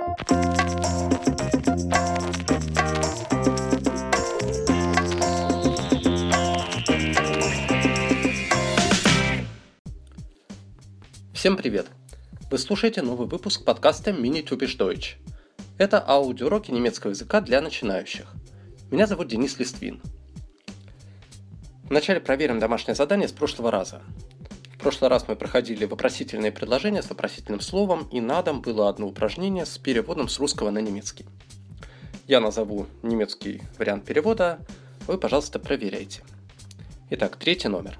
Всем привет! Вы слушаете новый выпуск подкаста Mini Typisch Deutsch. Это аудиоуроки немецкого языка для начинающих. Меня зовут Денис Листвин. Вначале проверим домашнее задание с прошлого раза. В прошлый раз мы проходили вопросительные предложения с вопросительным словом, и на дом было одно упражнение с переводом с русского на немецкий. Я назову немецкий вариант перевода, вы, пожалуйста, проверяйте. Итак, третий номер.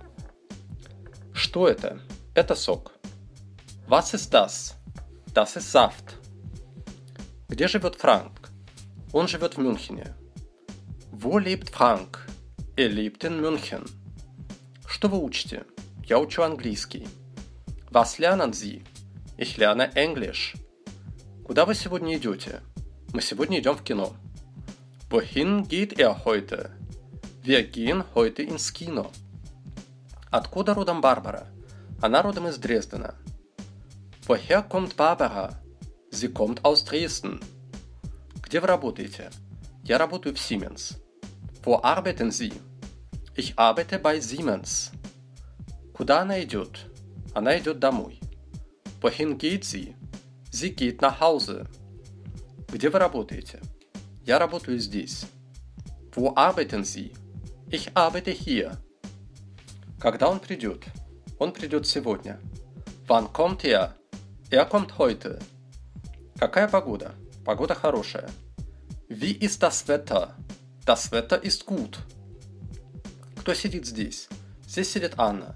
Что это? Это сок. Was ist das? Das ist Saft. Где живет Франк? Он живет в Мюнхене. Wo lebt Frank? Er lebt in München. Что вы учите? Я учу английский. Was lernen Sie? Ich lerne Englisch. Куда вы сегодня идете? Мы сегодня идем в кино. Wohin geht er heute? Wir gehen heute ins Kino. Откуда родом Барбара? Она родом из Дрездена. Woher kommt Barbara? Sie kommt aus Dresden. Где вы работаете? Я работаю в Siemens. Wo arbeiten Sie? Ich arbeite bei Siemens. Куда она идет? Она идет домой. Wohin geht sie? Sie geht nach Hause. Где вы работаете? Я работаю здесь. Wo arbeiten Sie? Ich arbeite hier. Когда он придет? Он придет сегодня. Wann kommt er? Er kommt heute. Какая погода? Погода хорошая. Wie ist das Wetter? Das Wetter ist gut. Кто сидит здесь? Здесь сидит Анна.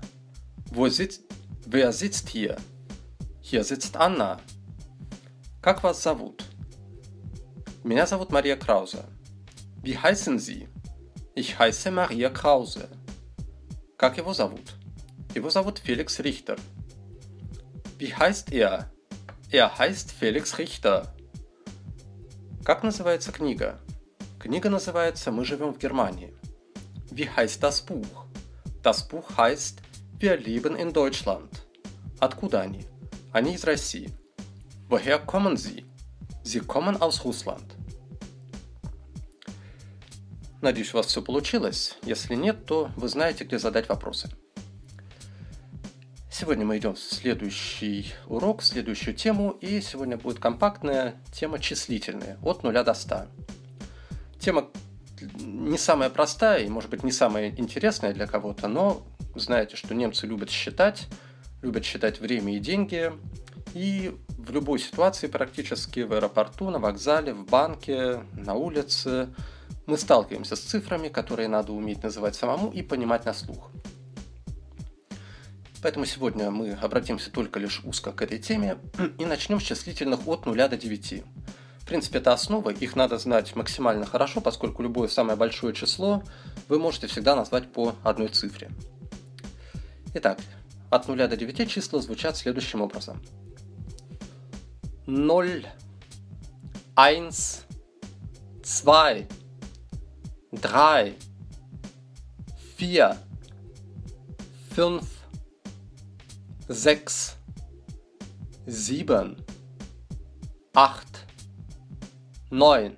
Wer sitzt hier? Hier sitzt Anna. Как вас зовут? Меня зовут Мария Краузе. Wie heißen Sie? Ich heiße Maria Krause. Как его зовут? Его зовут Феликс Рихтер. Wie heißt er? Er heißt Felix Richter. Как называется книга? Книга называется «Мы живем в Германии». Wie heißt das Buch? Das Buch heißt Wir leben in Deutschland. Откуда они? Они из России. Woher kommen Sie? Sie kommen aus Russland. Надеюсь, у вас все получилось. Если нет, то вы знаете, где задать вопросы. Сегодня мы идем в следующий урок, в следующую тему, и сегодня будет компактная тема числительные, от 0 до 100. Тема не самая простая и, может быть, не самая интересная для кого-то, но знаете, что немцы любят считать время и деньги, и в любой ситуации практически, в аэропорту, на вокзале, в банке, на улице, мы сталкиваемся с цифрами, которые надо уметь называть самому и понимать на слух. Поэтому сегодня мы обратимся только лишь узко к этой теме и начнем с числительных от 0 до 9. В принципе, это основа, их надо знать максимально хорошо, поскольку любое самое большое число вы можете всегда назвать по одной цифре. Итак, от 0 до 9 числа звучат следующим образом. 0, 1, 2, 3, 4, 5, 6, 7, 8, 9.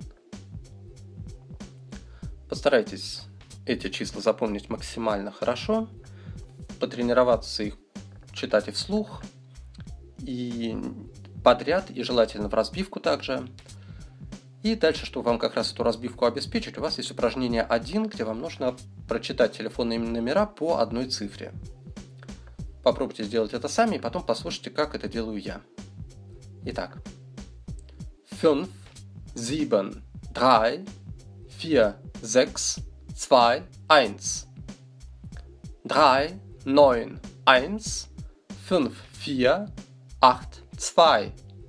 Постарайтесь эти числа запомнить максимально хорошо, потренироваться их читать и вслух, и подряд, и желательно в разбивку также. И дальше, чтобы вам как раз эту разбивку обеспечить, у вас есть упражнение 1, где вам нужно прочитать телефонные номера по одной цифре. Попробуйте сделать это сами, и потом послушайте, как это делаю я. Итак. 5, 7, 3, 4, 6, 2, 1. 3, 9, 1, 5, 4, 8, 2.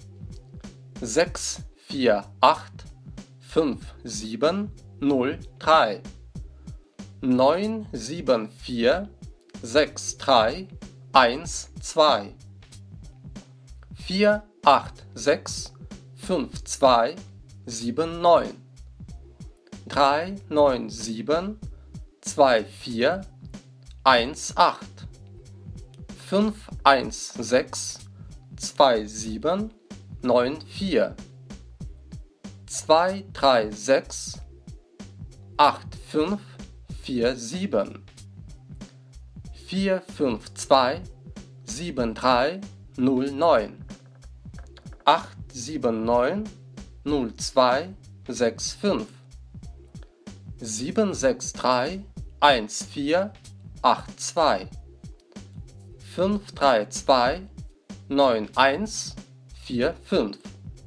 6, 4, 8, 5, 7, 0, 3. 9, 7, 4, 6, 3, 1, 2, 4, 8, 6, 5, 2, 7, 9, 3, 9, 7, 2, 4, 1, 8, 5, 1, 6, 2, 7, 9, 4, 2, 3, 6, 8, 5, 4, 7. 4, 5, 2, 7, 3, 0, 9. 8, 7, 9, 0, 2, 6, 5. 7, 6, 3, 1, 4, 8, 2. 5, 3, 2, 9, 1, 4, 5.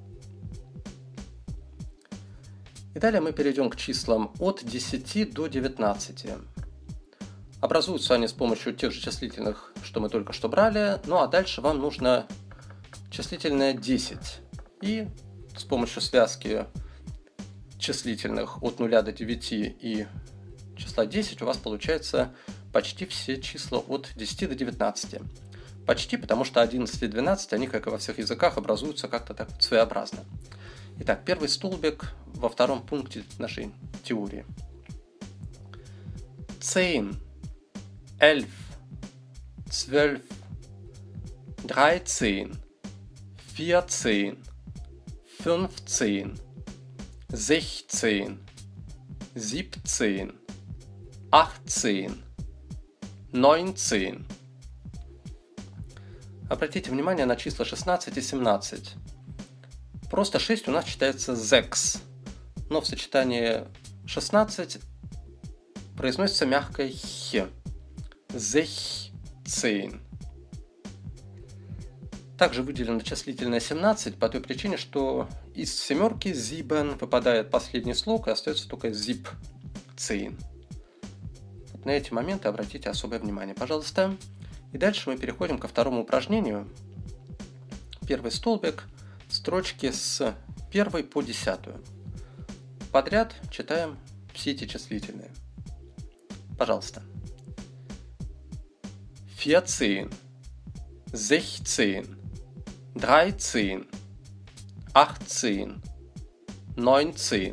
И далее мы перейдем к числам от 10 до 19. Образуются они с помощью тех же числительных, что мы только что брали, ну а дальше вам нужно числительное 10. И с помощью связки числительных от 0 до 9 и числа 10 у вас получается почти все числа от 10 до 19. Почти, потому что 11 и 12, они, как и во всех языках, образуются как-то так своеобразно. Итак, первый столбик во втором пункте нашей теории. 10, 11, 12, 13, 14, 15, 16, 17, 18, 19. Обратите внимание на числа 16 и 17. Просто 6 у нас читается «зекс», но в сочетании 16 произносится мягкое «х». «Зехцейн». Также выделено числительное 17 по той причине, что из семерки «зибен» выпадает последний слог и остается только «зипцейн». Вот на эти моменты обратите особое внимание, пожалуйста. И дальше мы переходим ко второму упражнению. Первый столбик. Строчки с 1 по 10. Подряд читаем все эти числительные. Пожалуйста. 14, 16, 13, 18, 19,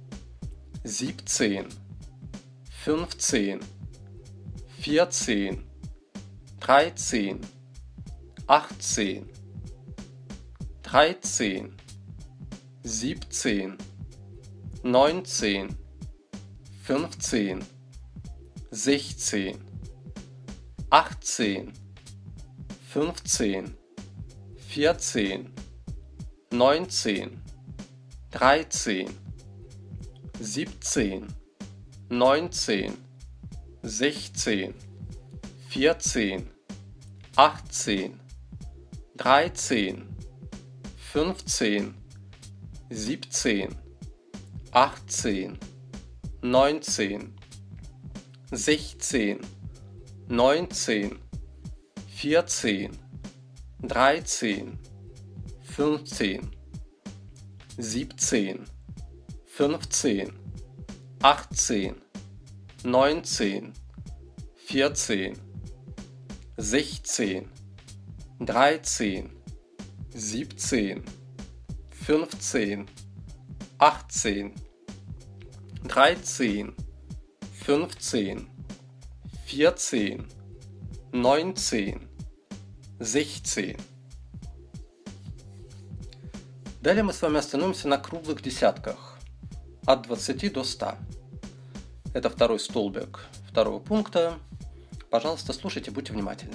17, 15, 14, 13, 18, 13, 17, 19, 15, 16, 18, 15, 14, 19, 13, 17, 19, 16, 14, 18, 13, 15, 17, 18, 19, 16, 19, 14, 13, 15, 17, 15, 18, 19, 14, 16, 13, 17, 15, 18, 13, 15, 14, 19, 16. Далее мы с вами остановимся на круглых десятках от 20 до 100. Это второй столбик второго пункта. Пожалуйста, слушайте, будьте внимательны.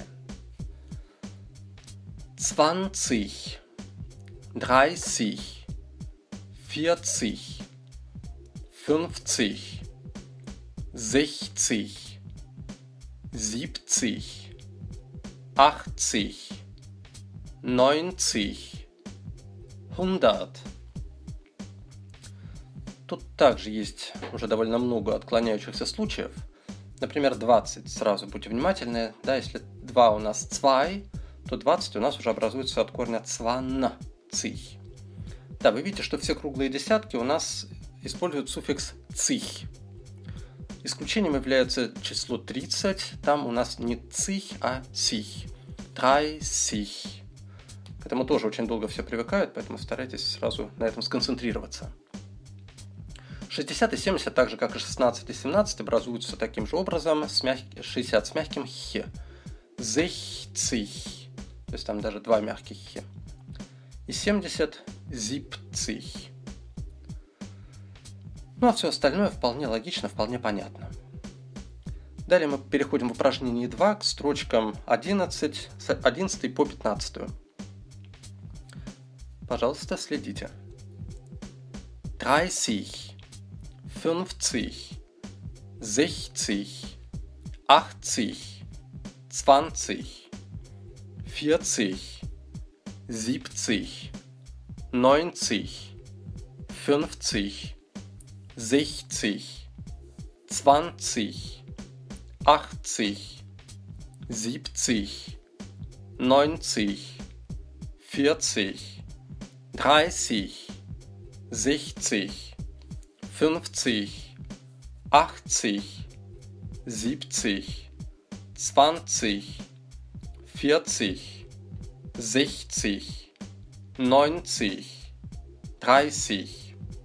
20, 30, 40, 50, 60, 70, 80, 90, 100. Тут также есть уже довольно много отклоняющихся случаев. Например, 20, сразу будьте внимательны. Да, если 2 у нас 2, то 20 у нас уже образуется от корня 20. Да, вы видите, что все круглые десятки у нас используют суффикс «цих». Исключением является число 30. Там у нас не «цих», а «сих». 30. К этому тоже очень долго все привыкают, поэтому старайтесь сразу на этом сконцентрироваться. 60 и 70, так же как и 16 и 17, образуются таким же образом, 60 с мягким «х». 60. То есть там даже 2 мягких «х». И 70 – 70. Ну а все остальное вполне логично, вполне понятно. Далее мы переходим в упражнение 2 к строчкам 11, с 11 по 15. Пожалуйста, следите. 30, 50, 60, 80, 20, 40, 70, 90, 50, 60, 20, 80, 70, 90, 40, 30, 60, 50, 80, 70, 20, 40, 60, 90, 30.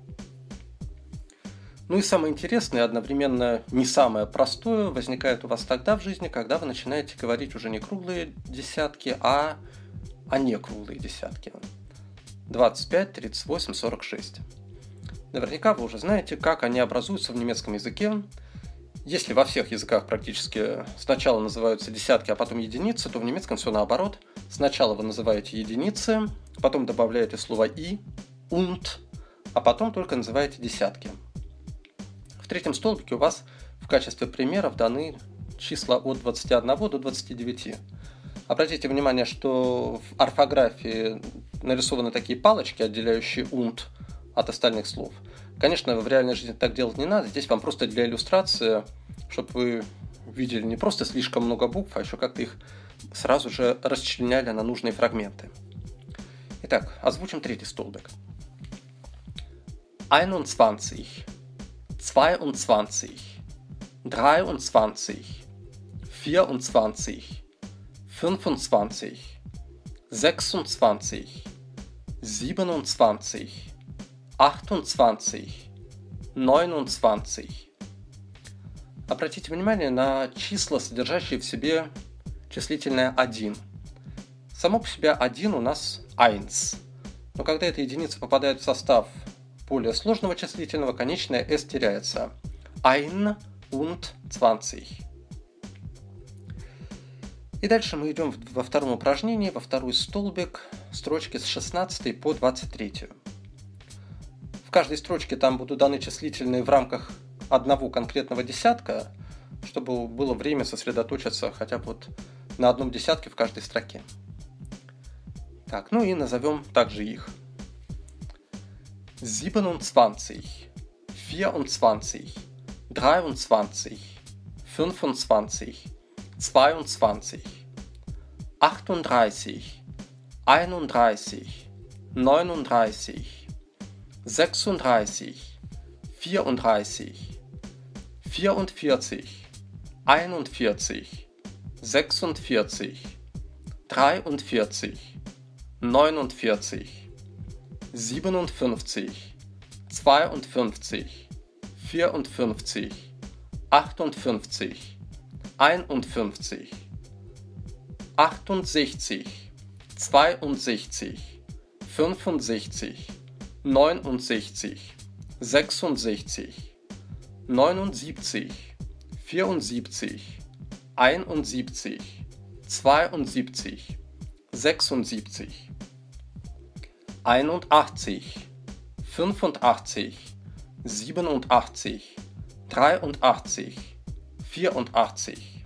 Ну и самое интересное, и одновременно не самое простое, возникает у вас тогда в жизни, когда вы начинаете говорить уже не круглые десятки, а не круглые десятки. 25, 38, 46. Наверняка вы уже знаете, как они образуются в немецком языке. Если во всех языках практически сначала называются десятки, а потом единицы, то в немецком все наоборот. Сначала вы называете единицы, потом добавляете слово «и», «und», а потом только называете десятки. В третьем столбике у вас в качестве примеров даны числа от 21 до 29. Обратите внимание, что в орфографии нарисованы такие палочки, отделяющие «und» от остальных слов. Конечно, в реальной жизни так делать не надо. Здесь вам просто для иллюстрации, чтобы вы видели не просто слишком много букв, а еще как-то их сразу же расчленяли на нужные фрагменты. Итак, озвучим третий столбик. 21, 22, 23, 24, 25, 26, 27, 28, 29. Обратите внимание на числа, содержащие в себе числительное 1. Само по себе 1 у нас 1. Но когда эта единица попадает в состав более сложного числительного, конечное s теряется. 1 und 20. И дальше мы идем во втором упражнении, во второй столбик, строчки с 16 по 23. В каждой строчке там будут даны числительные в рамках одного конкретного десятка, чтобы было время сосредоточиться хотя бы вот на одном десятке в каждой строке. Так, ну и назовем также их. 27, 24, 23, 25, 22, 38, 31, 39, 36, 34, 44, 41, 46, 43, 49, 57, 52, 54, 58, 51, 68, 62, 65, 69, 66, 79, 74, 71, 72, 76, 81, 85, 87, 83, 84,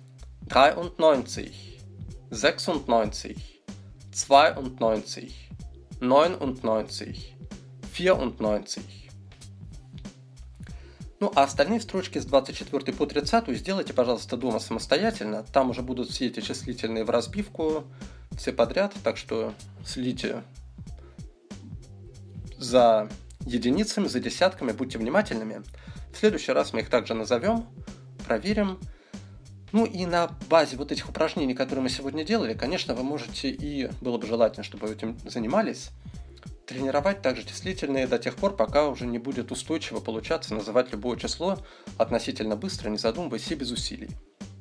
93, 96, 92, 99, 94. Ну, а остальные строчки с 24 по 30 сделайте, пожалуйста, дома самостоятельно. Там уже будут все эти числительные в разбивку, все подряд, так что следите за единицами, за десятками, будьте внимательными. В следующий раз мы их также назовем, проверим. Ну и на базе вот этих упражнений, которые мы сегодня делали, конечно, вы можете, и было бы желательно, чтобы вы этим занимались, тренировать также числительные до тех пор, пока уже не будет устойчиво получаться называть любое число относительно быстро, не задумываясь и без усилий.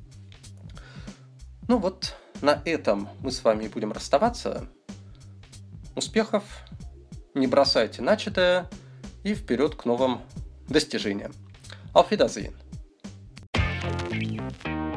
Ну вот, на этом мы с вами будем расставаться. Успехов, не бросайте начатое и вперед к новым достижения. Auf Wiedersehen!